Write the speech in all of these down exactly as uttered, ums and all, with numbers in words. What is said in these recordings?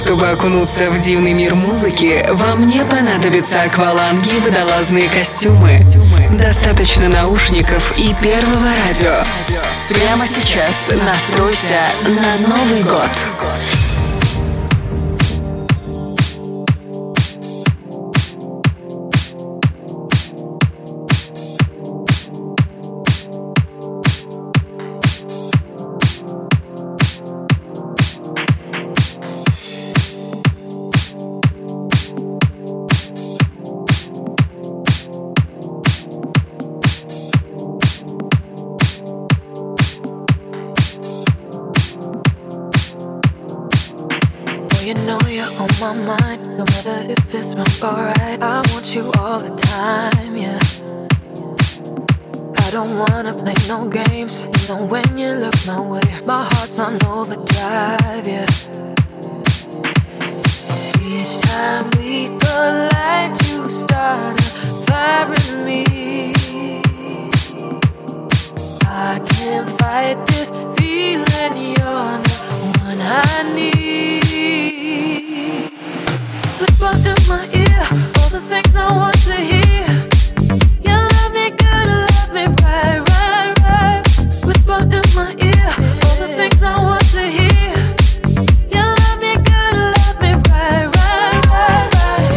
Чтобы окунуться в дивный мир музыки, вам не понадобятся акваланги и водолазные костюмы. Достаточно наушников и первого радио. Прямо сейчас настройся на Новый год. You know you're on my mind, no matter if it's wrong or right. I want you all the time, yeah. I don't wanna play no games, you know when you look my way, my heart's on overdrive, yeah. Each time we collide, you start a fire in me. I can't fight this feeling, you're the one I need. Whisper in my ear all the things I want to hear. You love me good, love me right, right, right. Whisper in my ear all the things I want to hear. You love me good, love me right, right, right, right.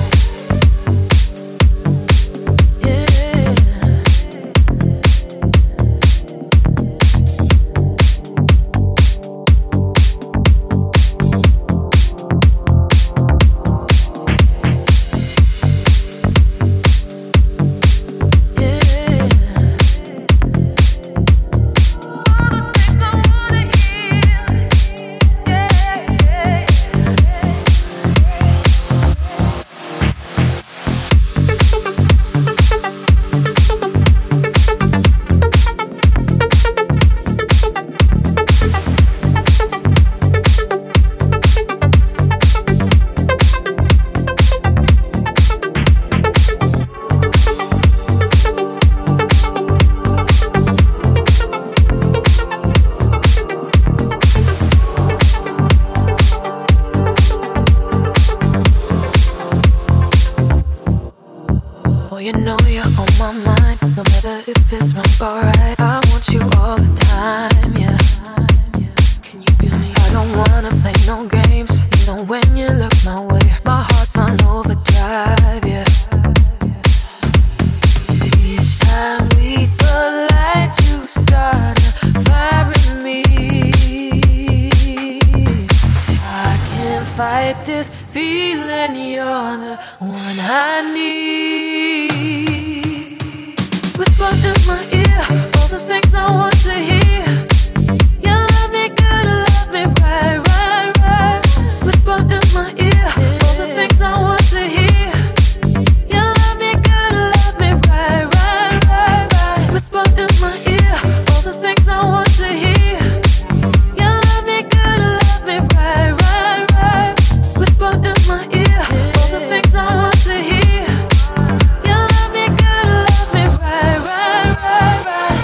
You know you're on my mind, no matter if it's wrong or right. I want you all the time, yeah. Can you feel me? I don't wanna play no games, you know when you look my way, my heart's on overdrive, yeah. Each time we collide, you start a fire in me. I can't fight this feeling, you're the one I need. Whisper in my ear all the things I want to hear. You love me good, love me right, right, right. Whisper in my ear all the things I want to hear. You love me good, love me right, right, right, right. Whisper in my ear all the things I want to hear. You love me good, love me right, right, right. Whisper in my ear all the things I want to hear. You love me good, love me right, right, right, right.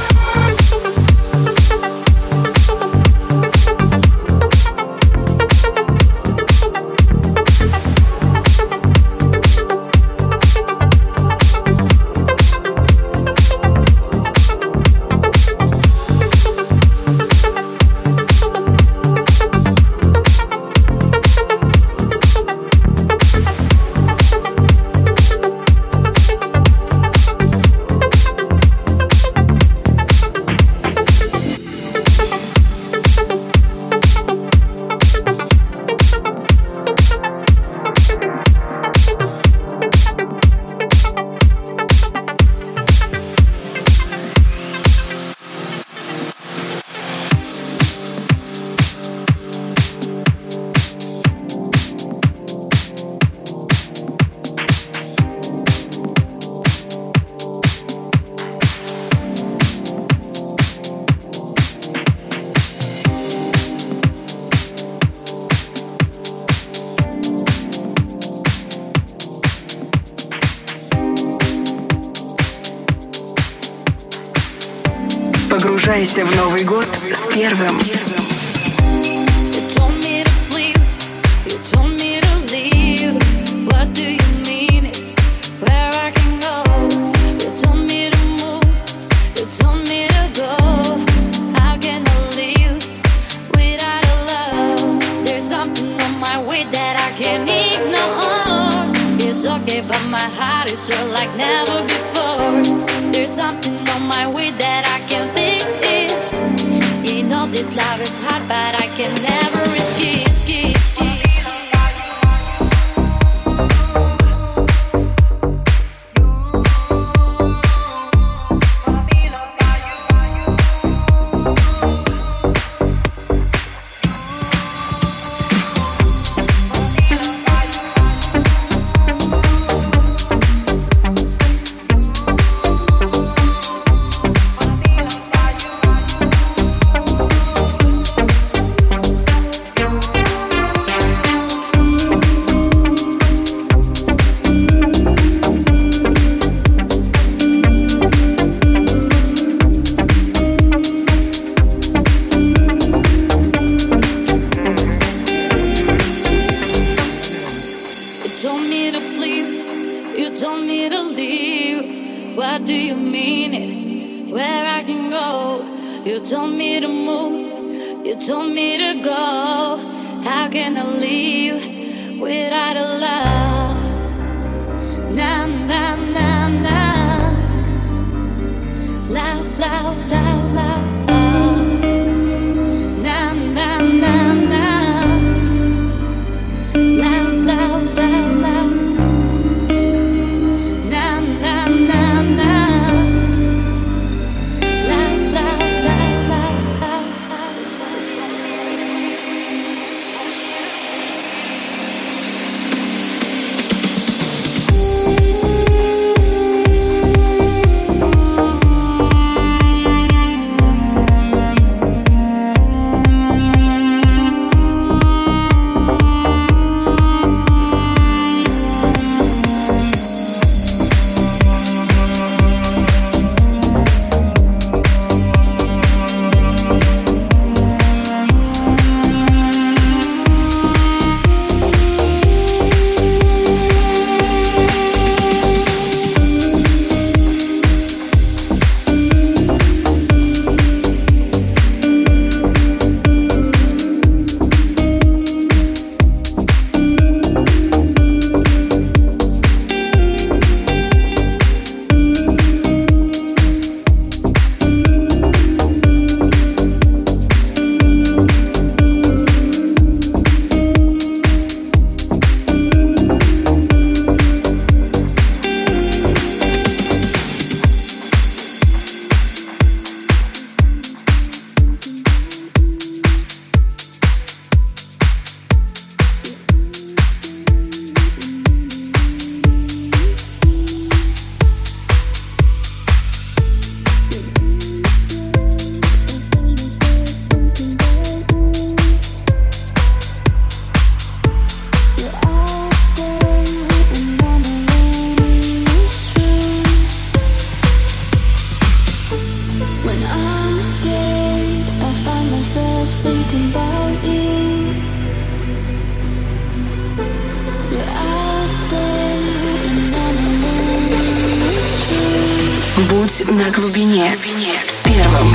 Погружайся в Новый год с первым. You told me to leave. You told my heart is real like never before. There's something on my way that I can fix it. You know this love is hard, but I can never risk it. Будь на глубине с первым.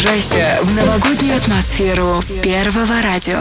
Погружайся в новогоднюю атмосферу Первого радио.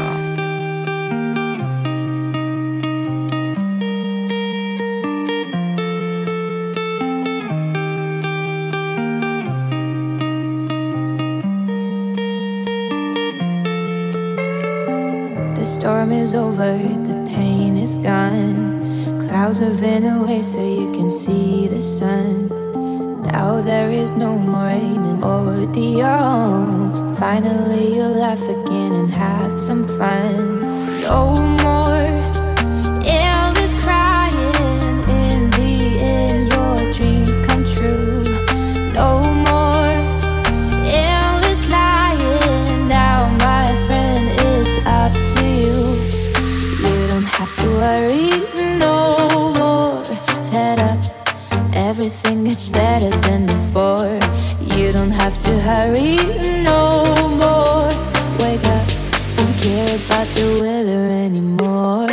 The storm is over, the pain is gone. Clouds moving away so you can see the sun. Now there is no more rain and already you're home. Finally you'll laugh again and have some fun. No more endless crying. In the end your dreams come true. No more endless lying. Now my friend, it's up to you. You don't have to worry no more. Head up, everything gets better than before. You don't have to hurry no more. Wake up, don't care about the weather anymore.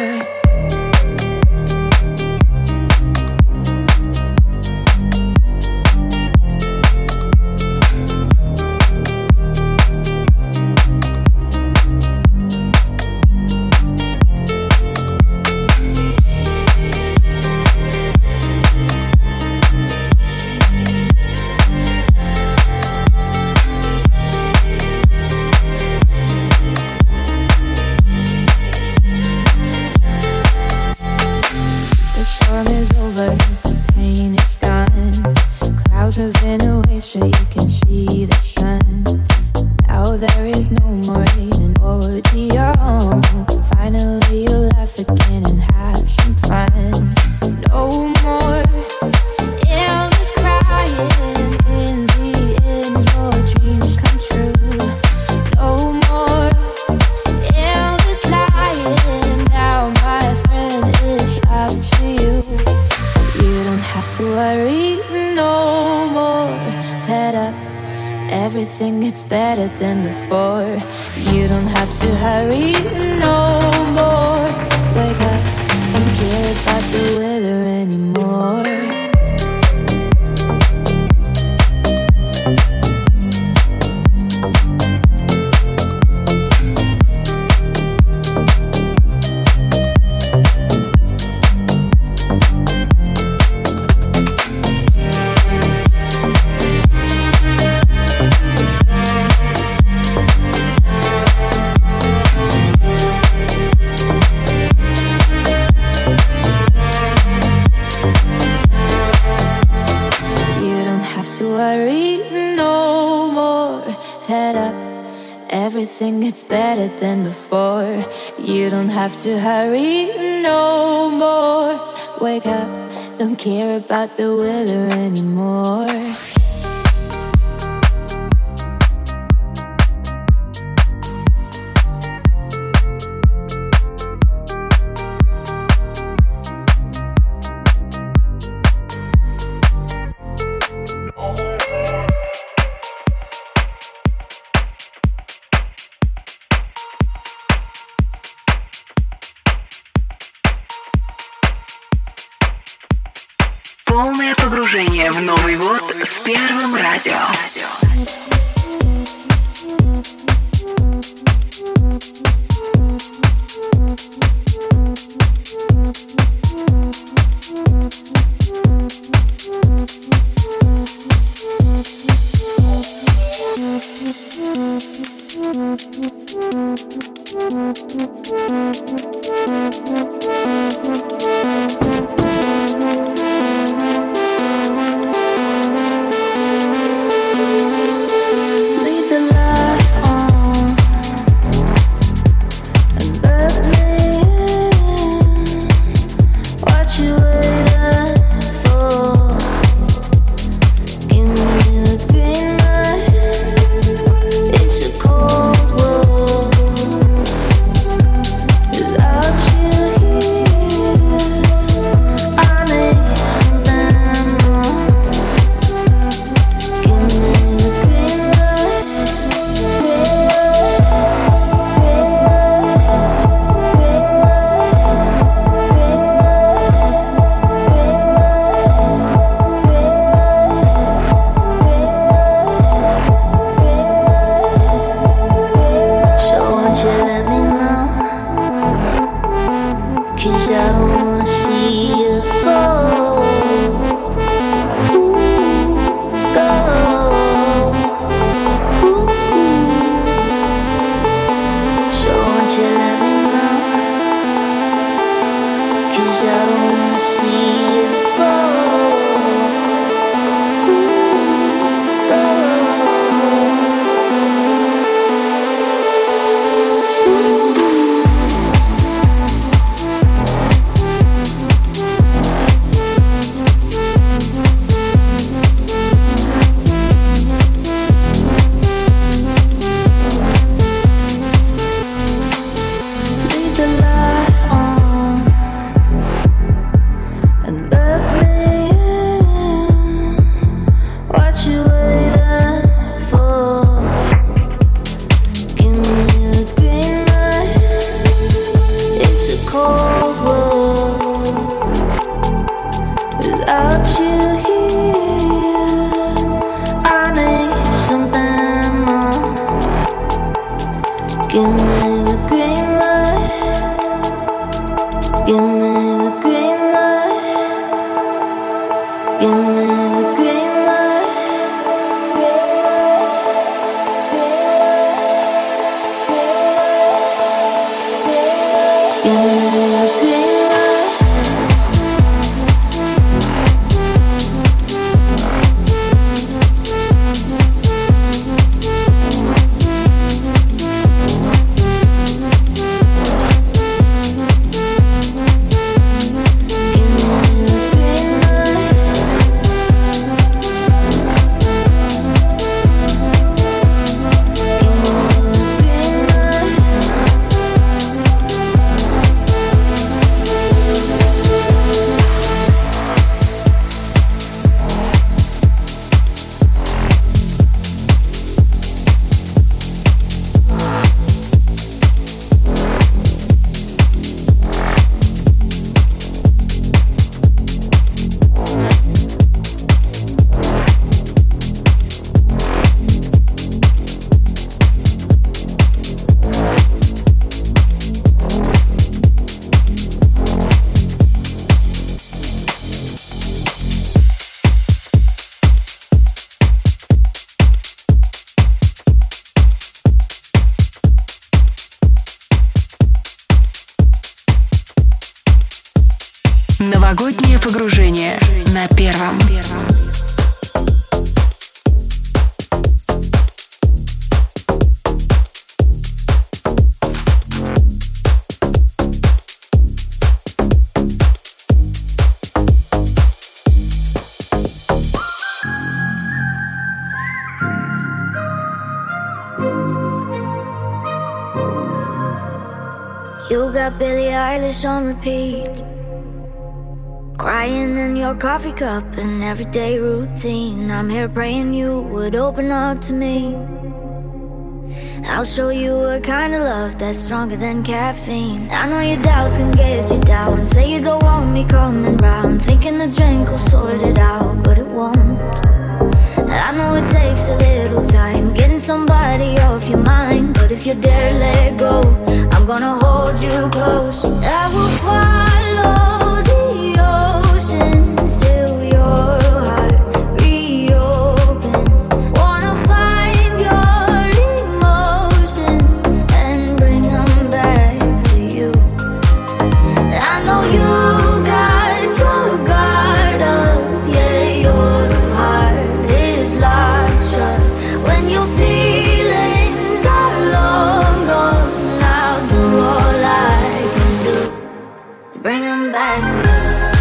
To hurry no more. Wake up, don't care about the weather anymore. Полное погружение в Новый год с Первым радио. Новогоднее погружение на Первом. You got Billie Eilish on repeat, crying in your coffee cup, an everyday routine. I'm here praying you would open up to me. I'll show you a kind of love that's stronger than caffeine. I know your doubts can get you down, say you don't want me coming round, thinking the drink will sort it out, but it won't. I know it takes a little time, getting somebody off your mind, but if you dare let go, I'm gonna hold you close. I will follow the oceans till your heart reopens. Wanna find your emotions and bring them back to you. I know you got your guard up, yeah, your heart is locked shut. When your feelings are long gone, I'll do all I can do to bring them back to you.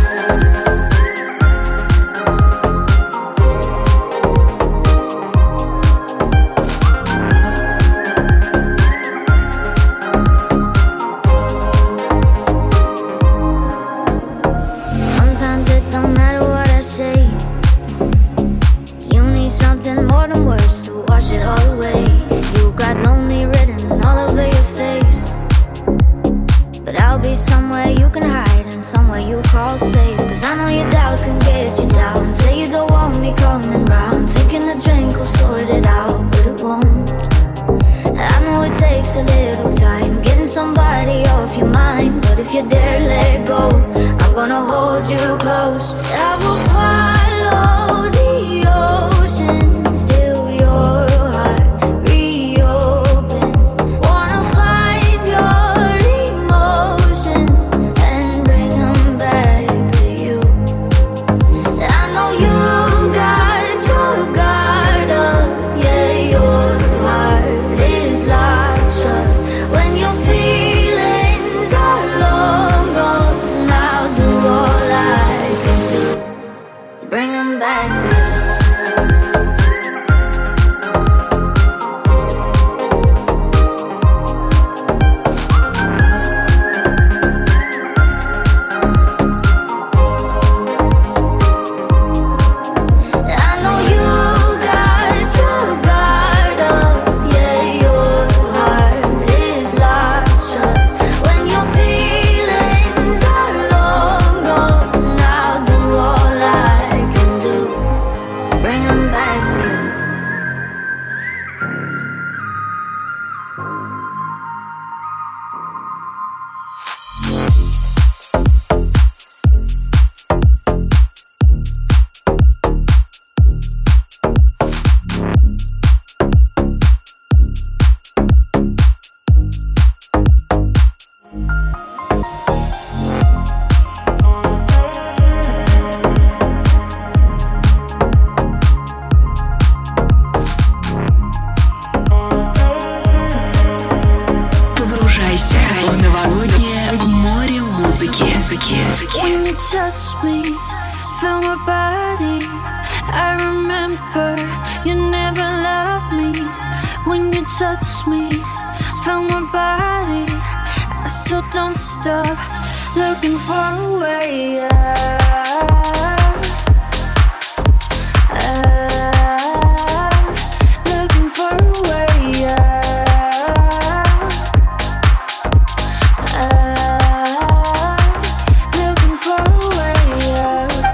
Sometimes it don't matter what I say, you need something more than words to wash it all away. You got lonely written all over your face, but I'll be somewhere you can hide and somewhere you call safe. Cause I know your doubts can get you down, say you don't want me coming round, thinking the drink will sort it out, but it won't. I know it takes a little time, getting somebody off your mind, but if you dare let go, I'm gonna hold you close. I will follow the oceans till your heart reopens. Wanna find your emotions and bring them back to you. I know you got your guard up, yeah, your heart is locked shut. When your feelings are long gone, I'll do all I can do to bring them back to you. I know you got your guard up, yeah, your heart is locked shut. When your feelings are long gone, I'll do all I touched me, felt my body. I remember you never loved me. When you touched me, felt my body. I still don't stop looking for a way out. Out. Looking for a way out. Out. Looking for a way out.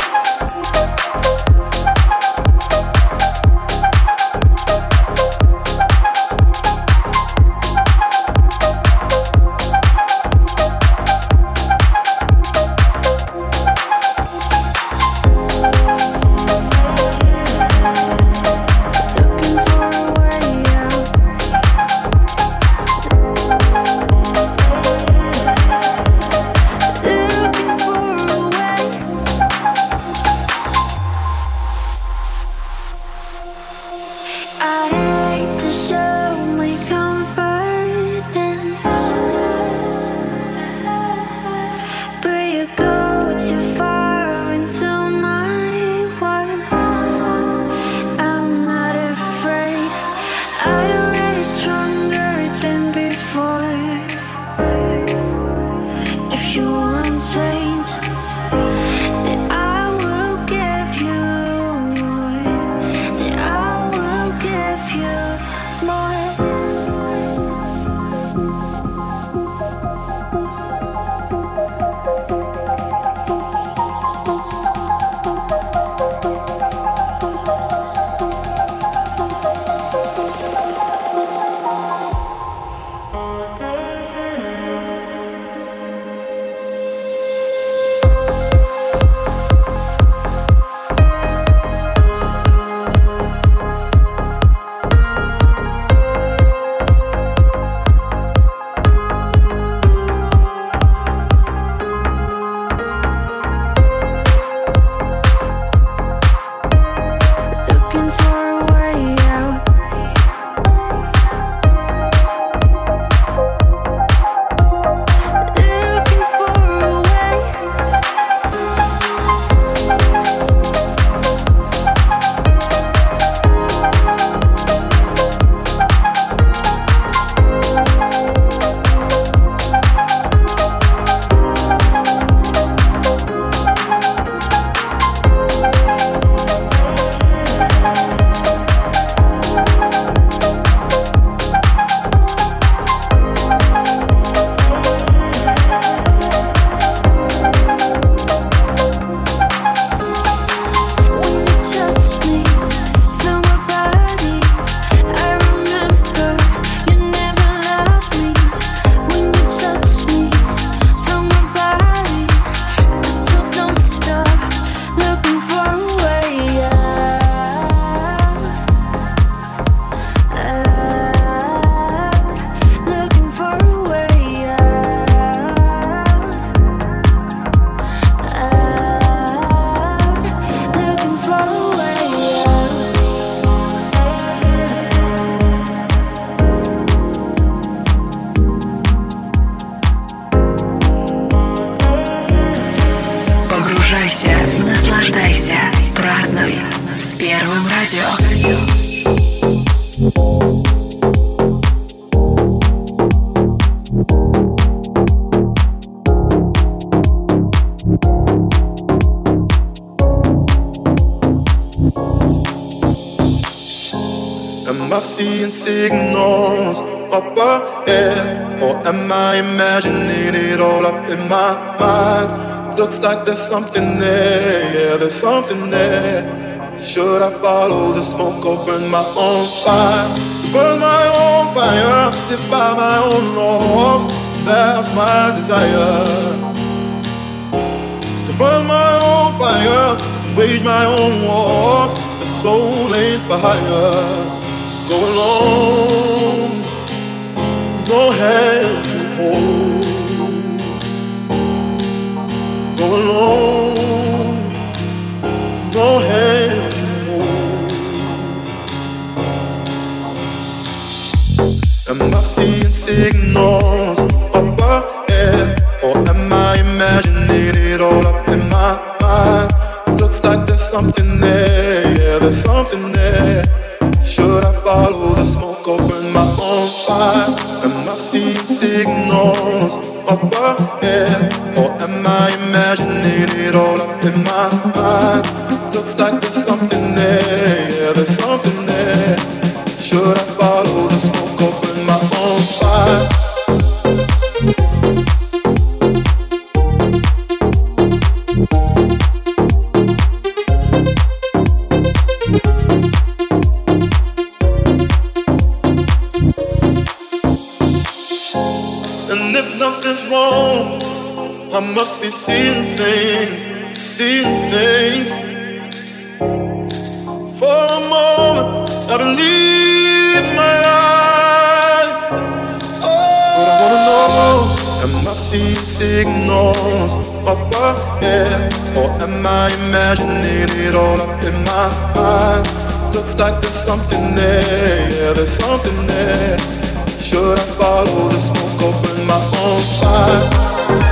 Наслаждайся, празднуй с Первым радио. Am I seeing signals up ahead, or am I imagining it all up in my mind? Looks like there's something there, yeah, there's something there. Should I follow the smoke or burn my own fire? To burn my own fire, live by my own laws, that's my desire. To burn my own fire, wage my own wars, the soul ain't for hire. Go alone, no hand to hold. Go alone, no hand to hold. Am I seeing signals up ahead, or am I imagining it all up in my something there, yeah, there's something there. Should I follow the smoke or burn my own fire? Am I seeing signals up ahead, or am I imagining it all up in my mind? Looks like there's something there, yeah, there's something there. Should I follow the smoke or burn my own fire? I must be seeing things, seeing things. For a moment, I believe my eyes. Oh, but I wanna know, am I seeing signals up ahead, or am I imagining it all up in my mind? Looks like there's something there, yeah, there's something there. Should I follow the smoke or burn my own fire?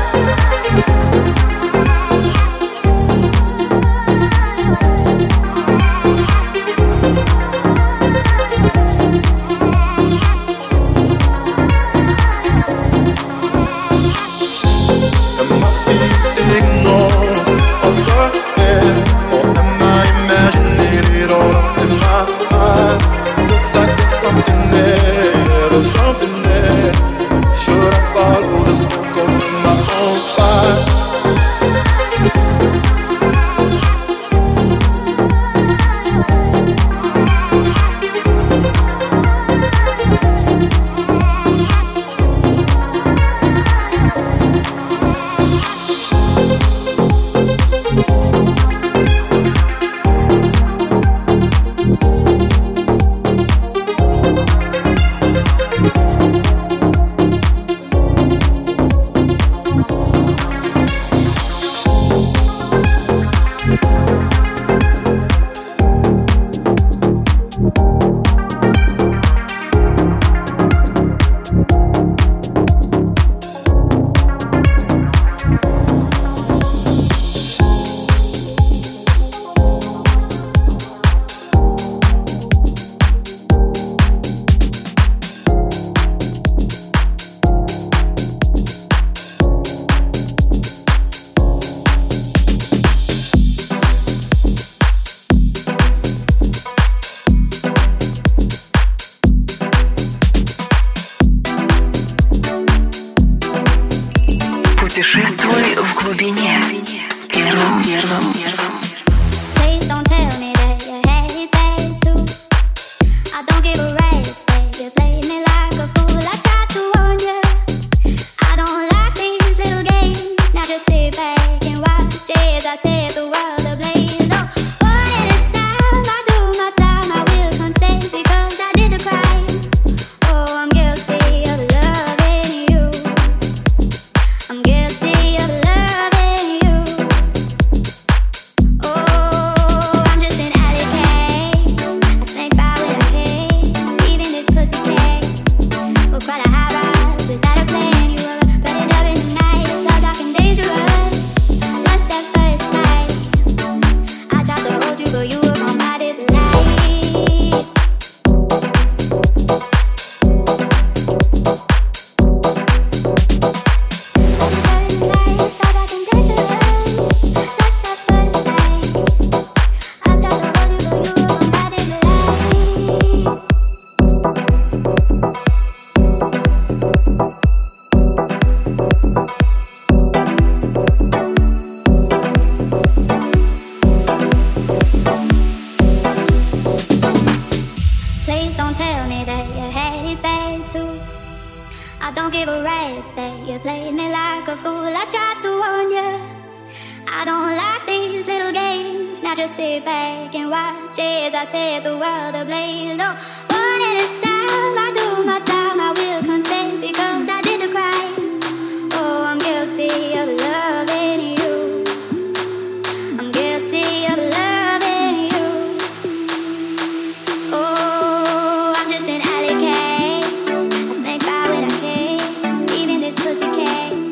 Путешествуй в глубине с первым первым первым.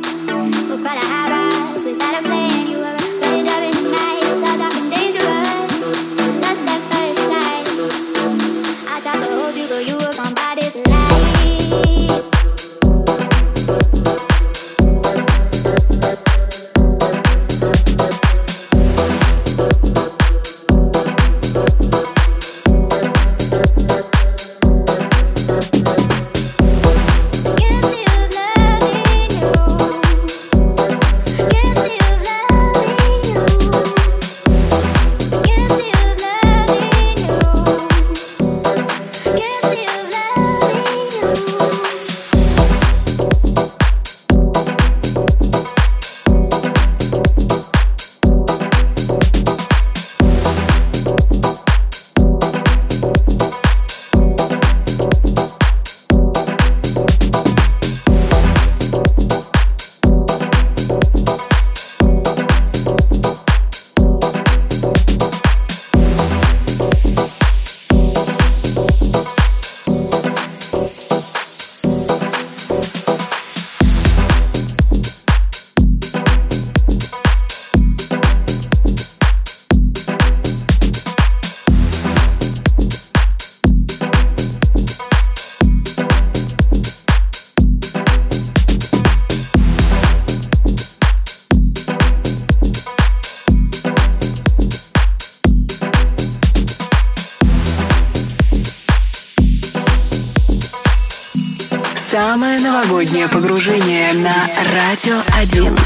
Quite a high rise without a plan. You were ready to in the night. It's all dark and dangerous. Самое новогоднее погружение на Радио один.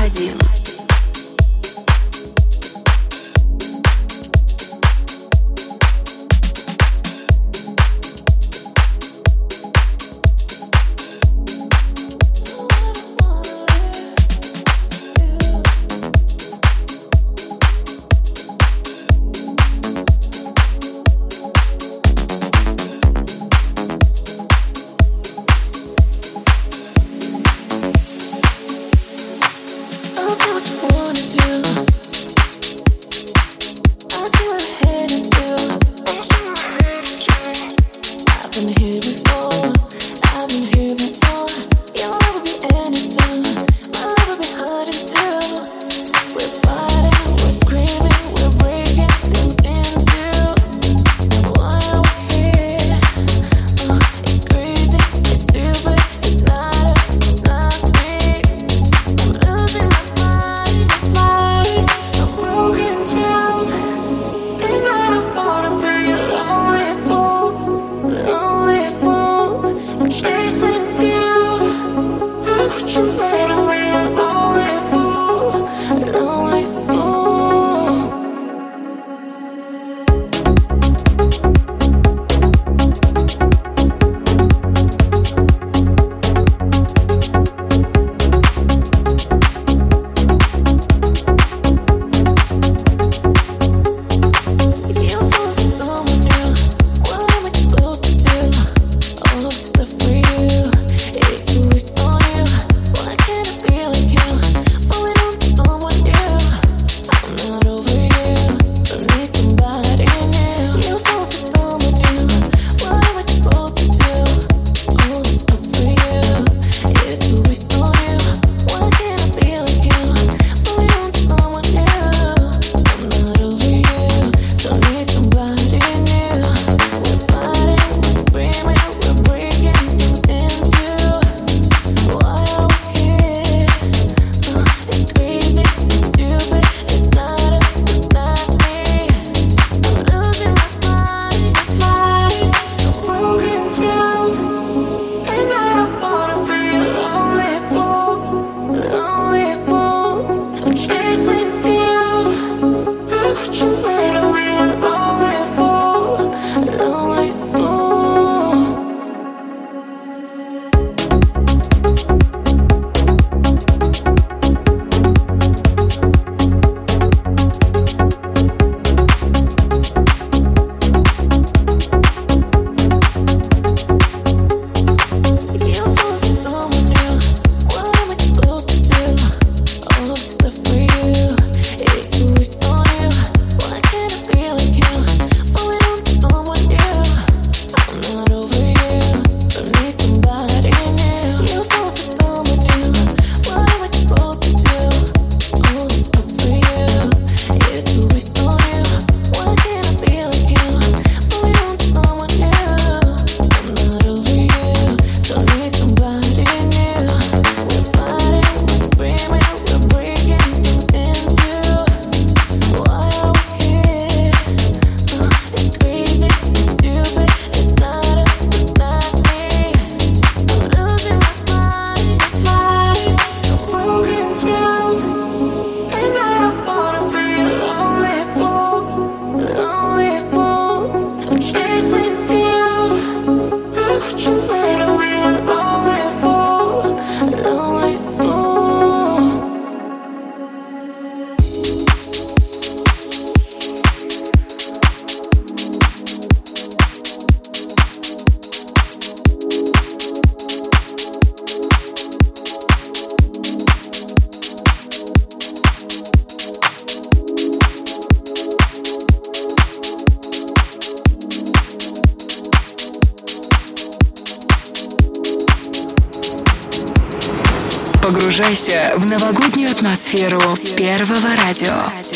Погружайся в новогоднюю атмосферу Первого радио.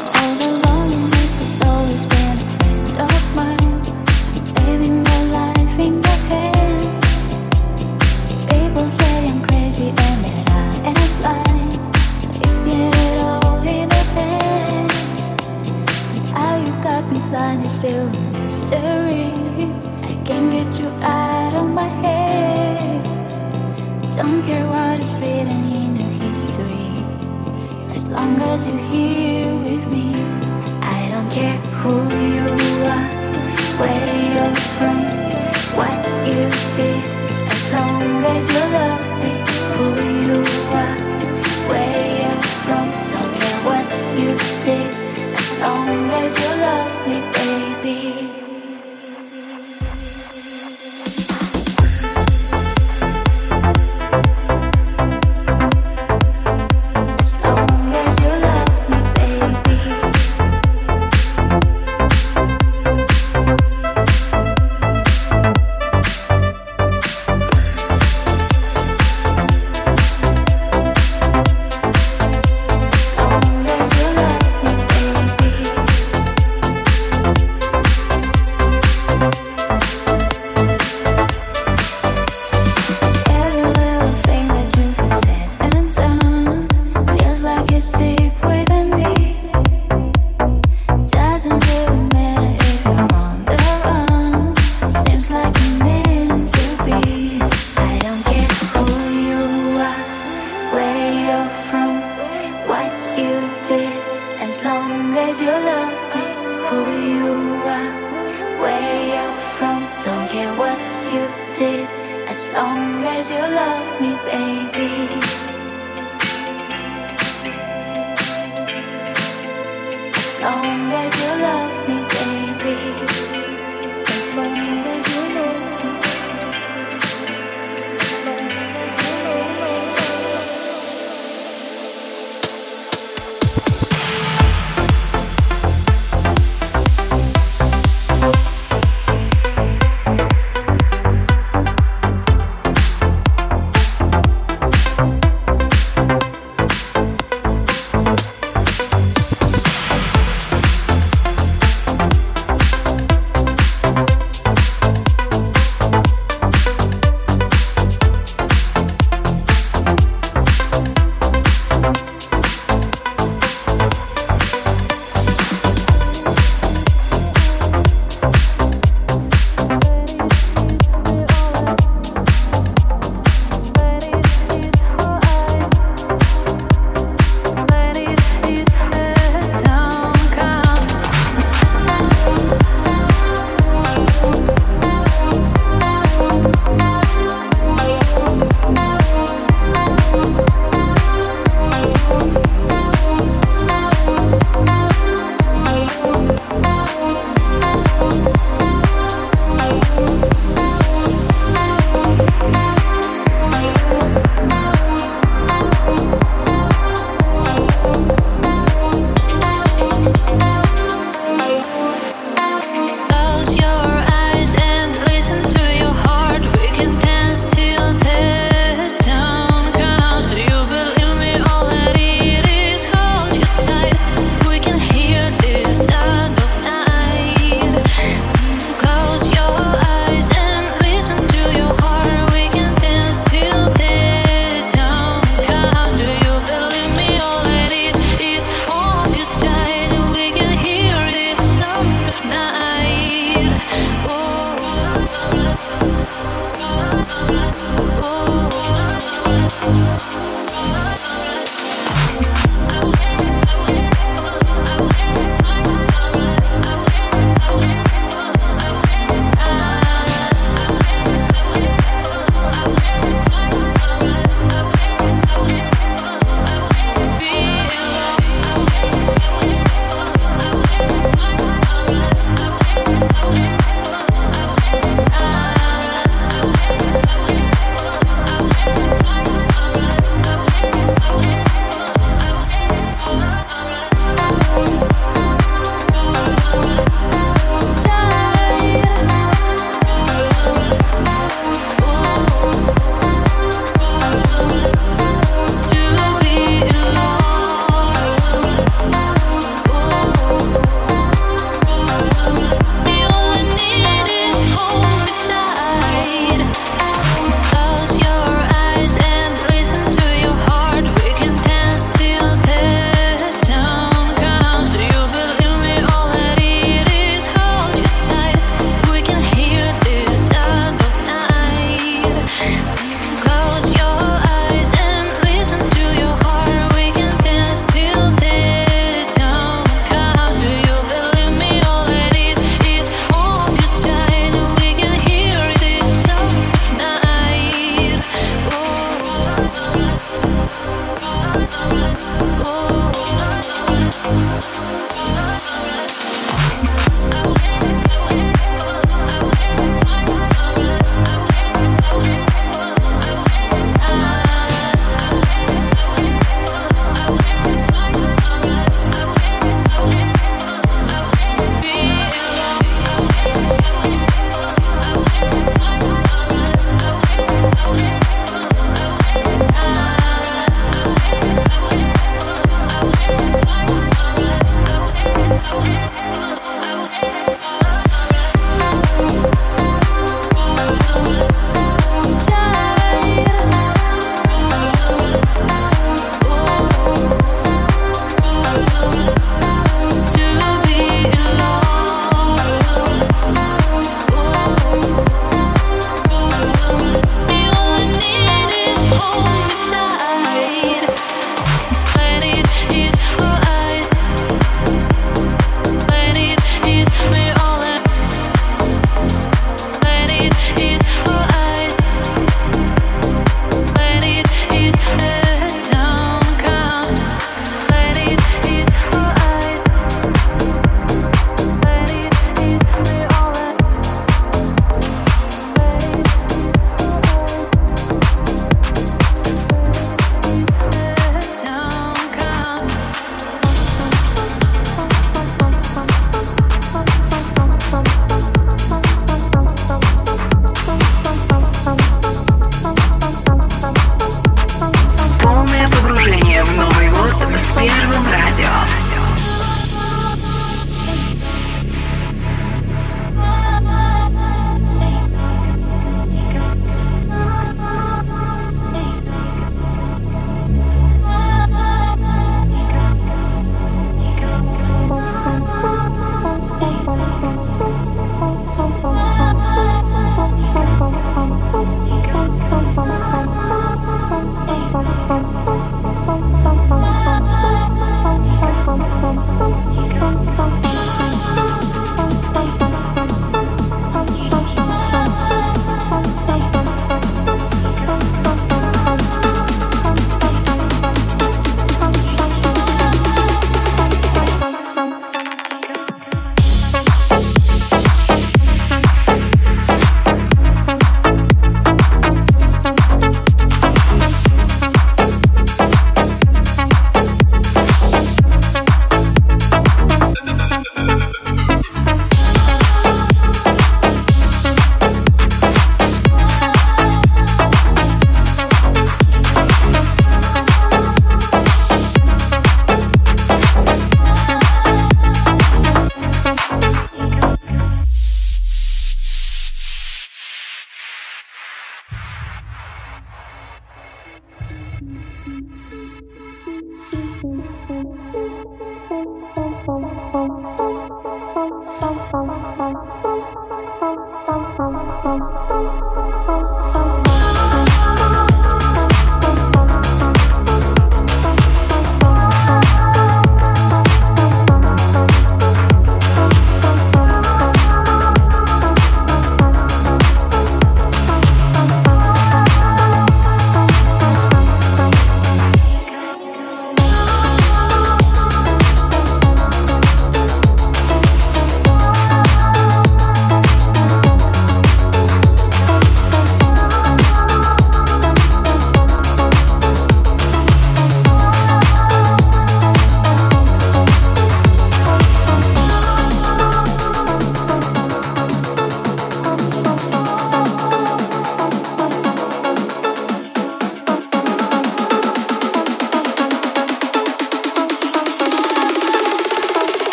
Still a mystery. I can't get you out of my head. Don't care what is written in your history, as long as you're here with me. I don't care who you are, where you're from, what you did, as long as you love me. Who you are, where you're from, don't care what you did, as long as you love me, baby.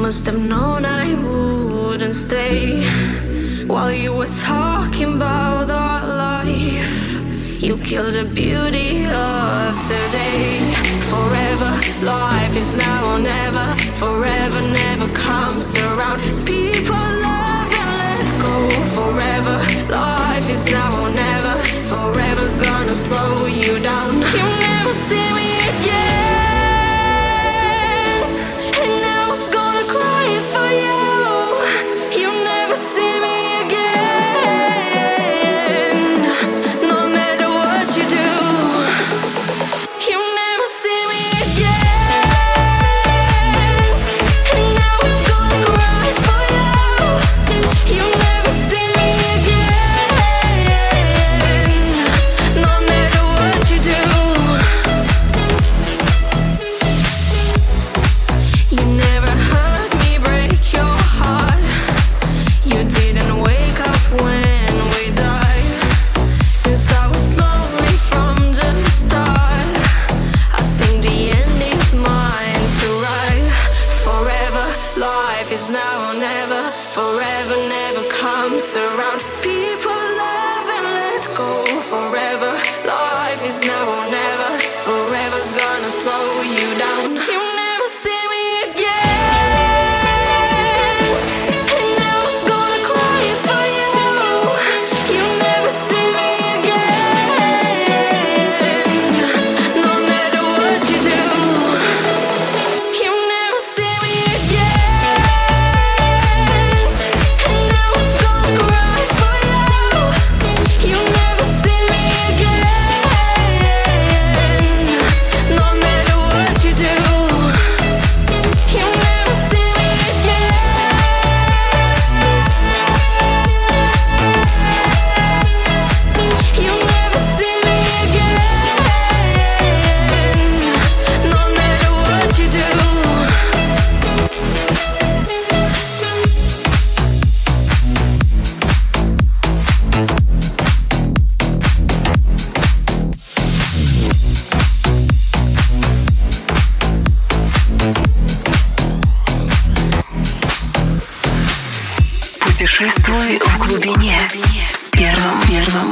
must have known I wouldn't stay while you were talking about our life. You killed the beauty of today. Forever, life is now or never. Forever never comes around. People love and let go. Forever, life is now or never. Forever's gonna slow you down. You never see me again. Путешествуй в глубине с первым первым.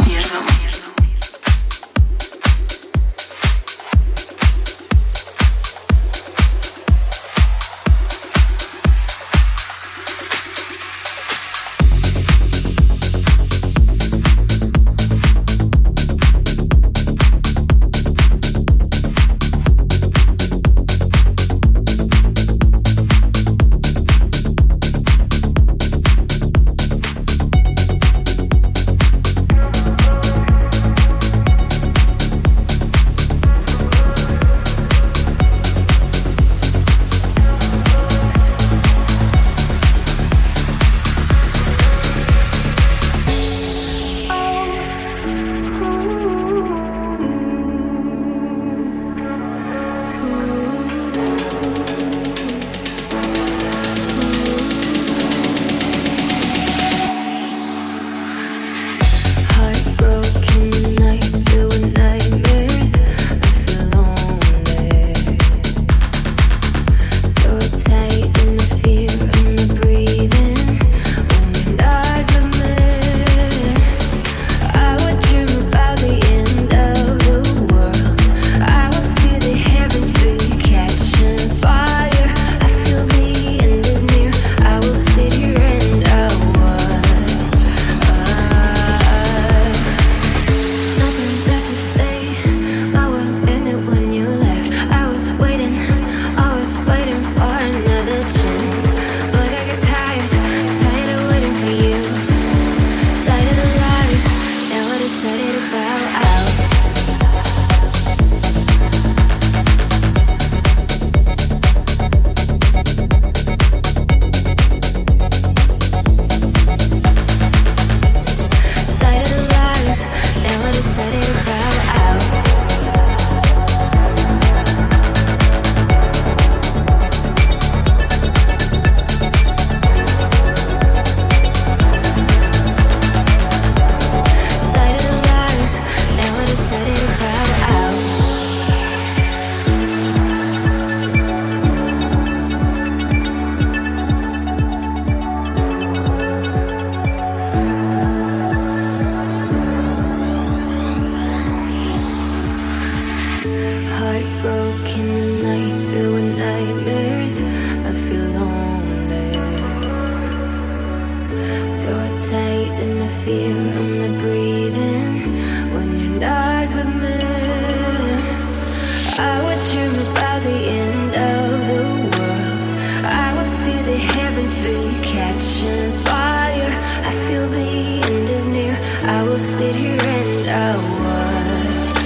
broken and nights filled with nightmares. I feel lonely. Throat tight and I fear I'm not breathing when you're not with me. I would dream about the end of the world. I would see the heavens be catching fire. I feel the end is near. I will sit here and I watch.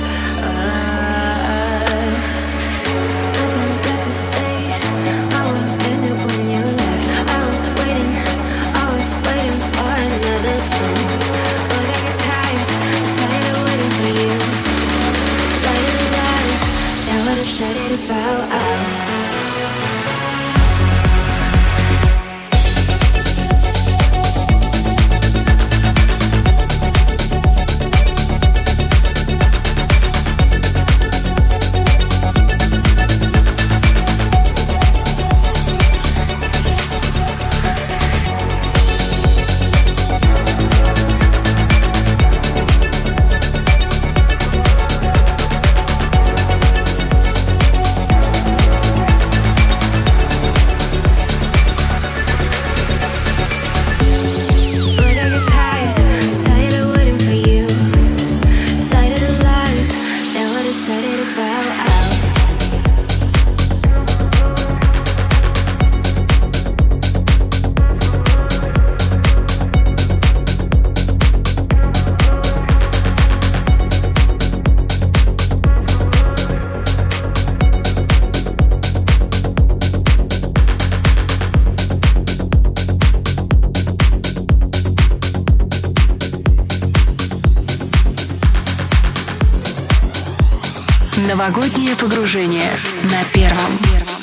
I, nothing left to say. I will end it when you left. I was waiting, I was waiting for another chance, but I get tired, tired of waiting for you. Tired of lies, now what I shut it about out. Новогоднее погружение на Первом.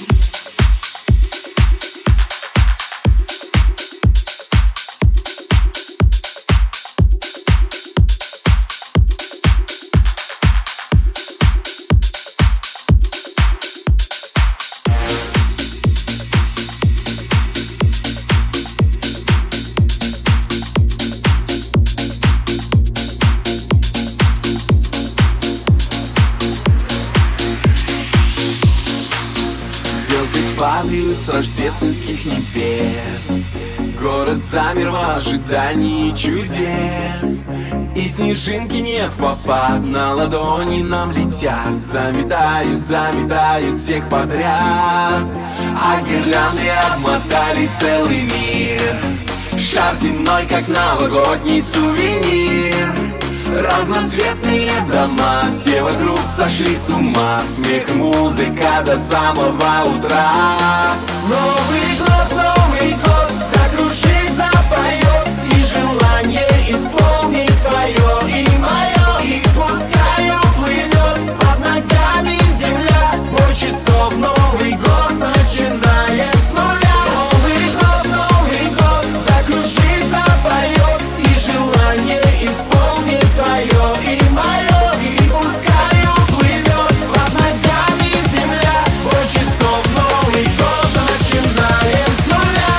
Падают с рождественских небес. Город замер в ожидании чудес. И снежинки не впопад на ладони нам летят. Заметают, заметают всех подряд. А гирлянды обмотали целый мир. Шар земной, как новогодний сувенир. Разноцветные дома, все вокруг сошли с ума. Смех и музыка до самого утра. Новый год, Новый год, закружит, запоет. И желание исполнит твое и мое. И пускай уплывет под ногами земля. Бой часов, Новый год, начинаем с нуля. Новый год, Новый год, закружит, запоет. И желание исполнит твое и мое, и пускай уплывет под ногами земля. Бой часов, Новый год, начинаем с нуля.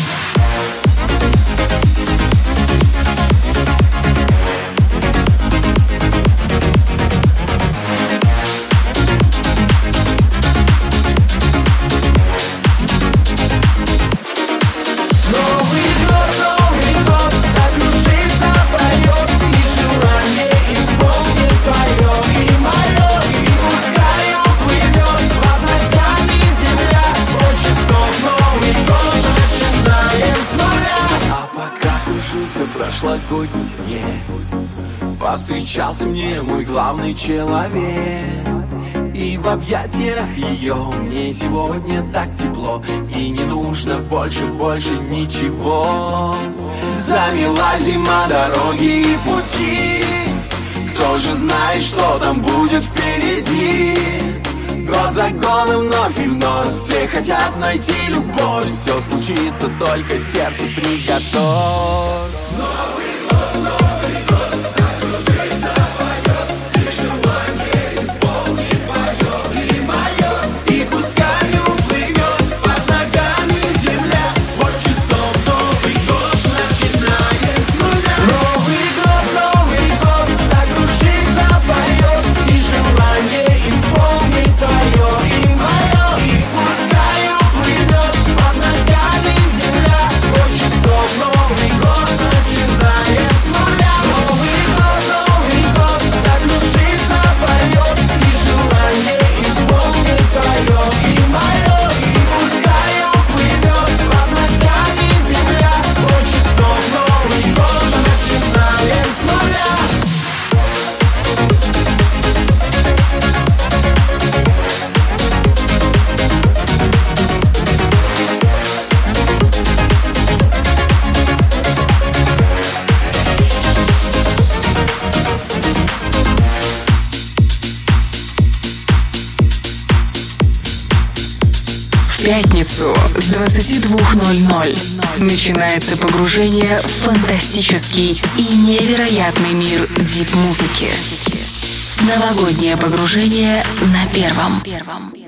Новый год, Новый год, закружит, запоет. И желание исполнит твое и мое. И пускай уплывет под ногами земля. Бой часов, Новый год, начинаем с нуля. А пока кружился прошлогодний снег, повстречался мне мой главный человек. И в объятиях ее мне сегодня так тепло. И не нужно больше, больше ничего. Замела зима дороги и пути. Кто же знает, что там будет впереди? Год за годом вновь и вновь все хотят найти любовь. Все случится, только сердце приготовь. Новый год, Новый год, закружит, запоет. И желание исполнит твое и мое. И пускай уплывет под ногами земля. Бой часов, Новый год, начинаем с нуля. Новый год, Новый год, закружит, запоет. И желание исполнит твое В пятницу с двадцати двух ноль-ноль начинается погружение в фантастический и невероятный мир дип-музыки. Новогоднее погружение на Первом.